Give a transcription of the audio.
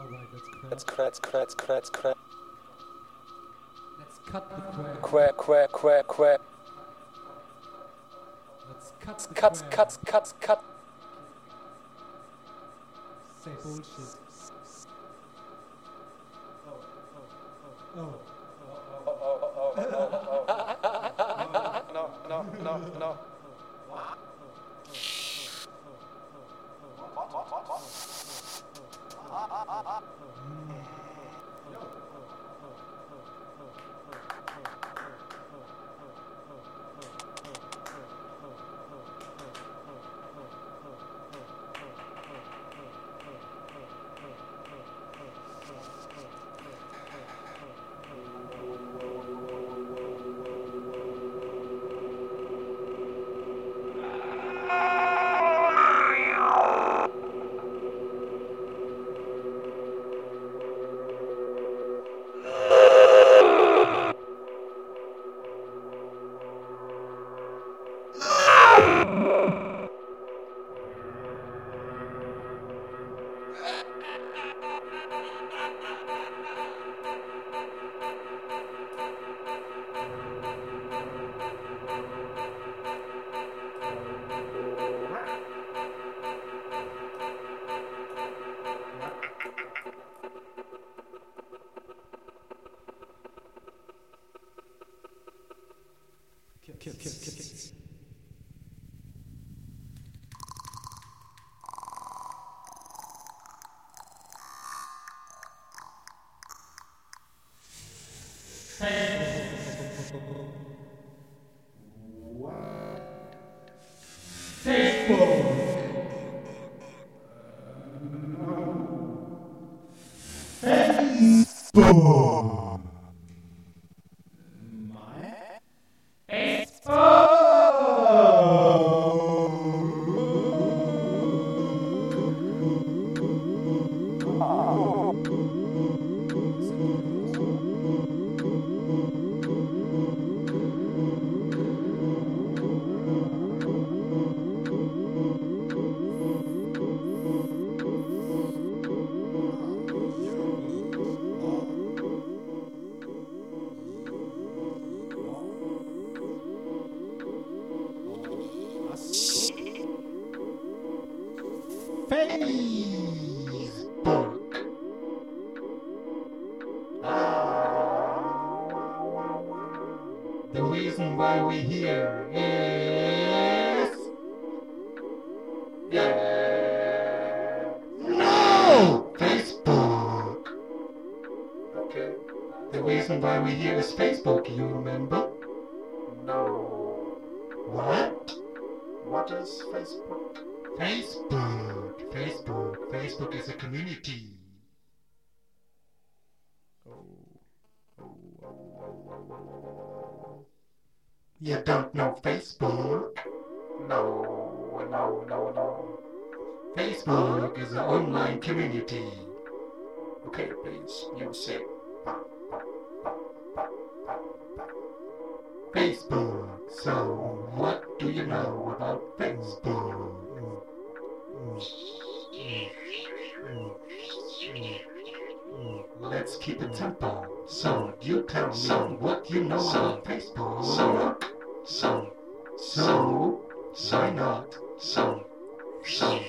Let's crack. Let's cut the quack. Quack. Let's cut the Cut. Say bullshit. Oh. No. Kill. The reason why we're here is... No! Facebook! Okay. The reason why we're here is Facebook, you remember? No. What? What is Facebook? Facebook is a community. You don't know Facebook? No. Facebook is an online community. Okay, please, music. Facebook. So, what do you know about Facebook? Let's keep it simple. So, you tell me what you know about Facebook. So, why not?